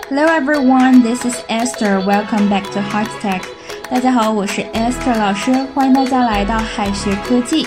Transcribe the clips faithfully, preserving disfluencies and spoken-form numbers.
Hello everyone, this is Esther. Welcome back to Heart Tech. 大家好，我是 Esther 老师，欢迎大家来到海学科技。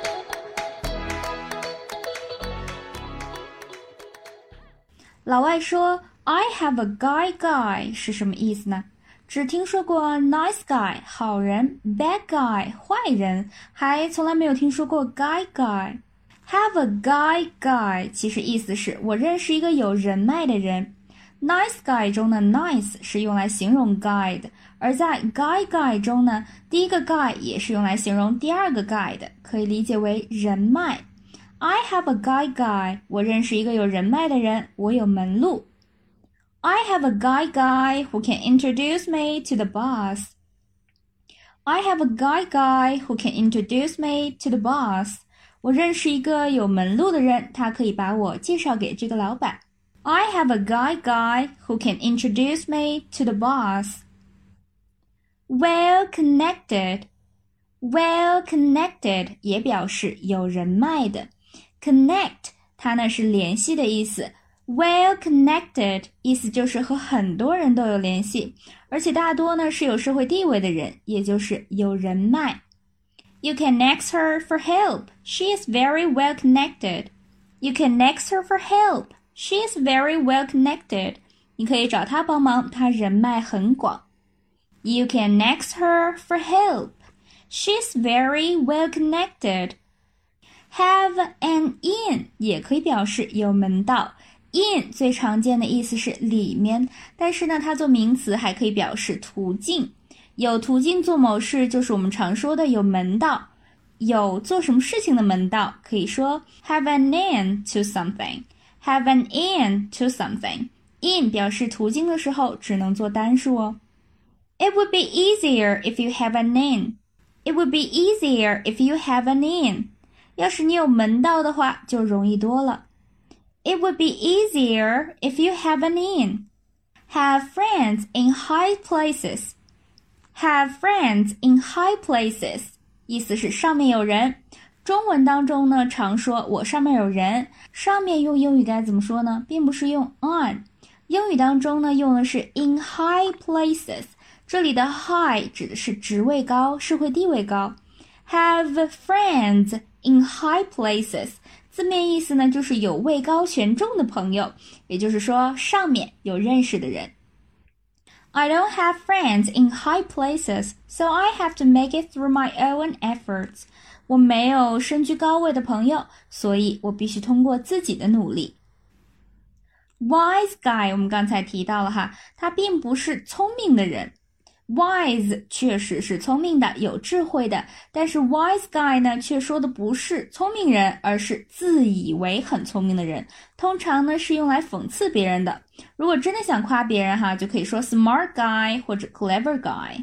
老外说 I have a guy guy 是什么意思呢？只听说过 nice guy 好人 bad guy 坏人，还从来没有听说过 guy guy。 Have a guy guy 其实意思是我认识一个有人脉的人。 Nice guy 中的 nice 是用来形容 guy 的，而在 guy guy 中呢，第一个 guy 也是用来形容第二个 guy 的，可以理解为人脉。 I have a guy guy 我认识一个有人脉的人，我有门路。I have a guy guy who can introduce me to the boss. I have a guy guy who can introduce me to the boss. 我认识一个有门路的人，他可以把我介绍给这个老板。I have a guy guy who can introduce me to the boss. Well connected. Well connected 也表示有人脉的。Connect 它呢是联系的意思。Well connected 意思就是和很多人都有联系，而且大多呢是有社会地位的人，也就是有人脉。You can ask her for help. She is very well connected. You can ask her for help. She is very well connected. 你可以找她帮忙，她人脉很广。You can ask her for help. She is very well connected. Have an in 也可以表示有门道。In 最常见的意思是里面，但是呢，它做名词还可以表示途径。有途径做某事，就是我们常说的有门道。有做什么事情的门道，可以说 have an in to something. Have an in to something. In 表示途径的时候，只能做单数哦。It would be easier if you have an in. It would be easier if you have an in. 要是你有门道的话，就容易多了。It would be easier if you have an in. Have friends in high places. Have friends in high places. 意思是上面有人。中文当中呢，常说我上面有人，上面用英语该怎么说呢？并不是用 on。英语当中呢，用的是 in high places。这里的 high 指的是职位高，社会地位高。Have friends in high places。字面意思呢，就是有位高权重的朋友，也就是说上面有认识的人。I don't have friends in high places, so I have to make it through my own efforts. 我没有身居高位的朋友，所以我必须通过自己的努力。Wise guy 我们刚才提到了哈，他并不是聪明的人。Wise 确实是聪明的，有智慧的，但是 wise guy 呢，却说的不是聪明人，而是自以为很聪明的人。通常呢，是用来讽刺别人的。如果真的想夸别人哈，就可以说 smart guy 或者 clever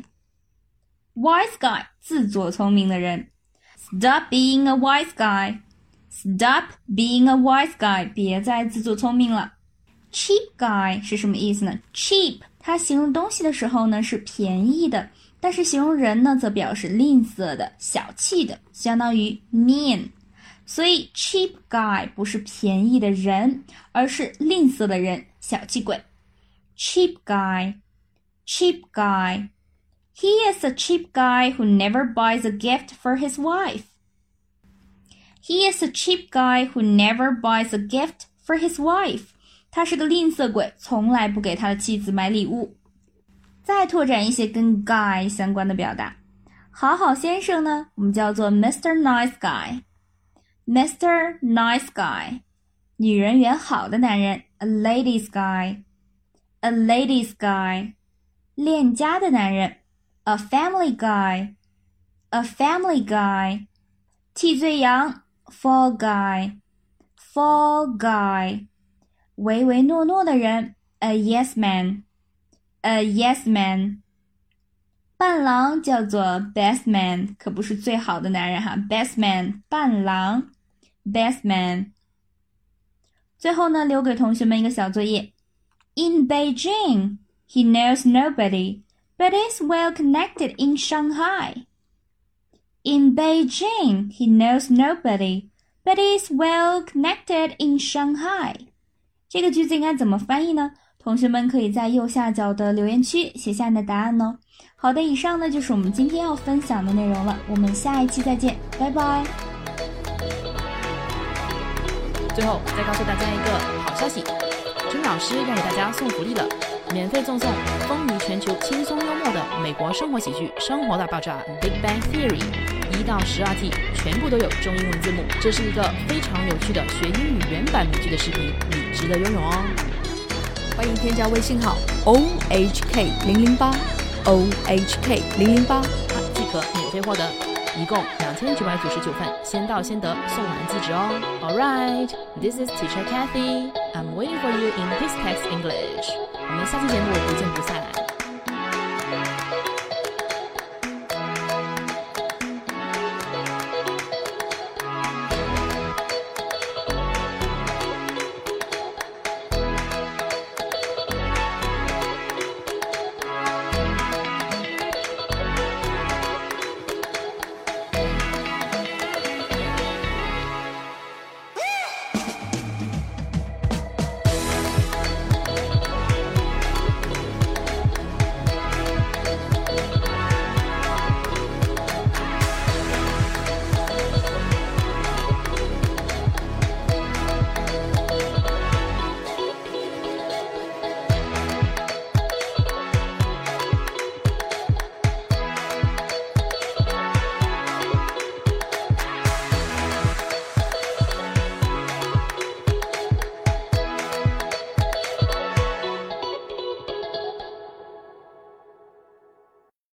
guy。Wise guy 自作聪明的人。Stop being a wise guy. Stop being a wise guy. 别再自作聪明了。Cheap guy 是什么意思呢？ Cheap它形容东西的时候呢是便宜的，但是形容人呢则表示吝啬的、小气的，相当于 mean。所以 cheap guy 不是便宜的人，而是吝啬的人，小气鬼。Cheap guy, cheap guy. He is a cheap guy who never buys a gift for his wife. He is a cheap guy who never buys a gift for his wife. 他是个吝啬鬼，从来不给他的妻子买礼物。再拓展一些跟 guy 相关的表达。好好先生呢，我们叫做 Mister Nice Guy。Mister Nice Guy。女人缘好的男人 A ladies guy。A ladies guy。恋家的男人 A family guy。A family guy。替罪羊 Fall guy。Fall guy。唯唯诺诺的人 A yes man. A yes man. 伴郎叫做 best man， 可不是最好的男人哈 best man 伴郎 best man。 最后呢，留给同学们一个小作业。 In Beijing, he knows nobody, but is well connected in Shanghai. In Beijing, he knows nobody, but is well connected in Shanghai. 这个句子应该怎么翻译呢？ 同学们可以在右下角的留言区写下你的答案哦。好的，以上呢就是我们今天要分享的内容了，我们下一期再见，拜拜。 最后再告诉大家一个好消息，君老师要给大家送福利了，免费赠送风靡全球轻松幽默的美国生活喜剧《生活大爆炸》Big Bang Theory 一到十二季全部都有中英文字幕，这是一个非常有趣的学英语原版美剧的视频，你值得拥有哦。欢迎添加微信号 O H K 零零八 O H K 零零八即可免费获得，一共两千九百九十九份，先到先得，送完即止哦。Alright, this is Teacher Kathy. I'm waiting for you in His Text English. 我们下期节目不见不散。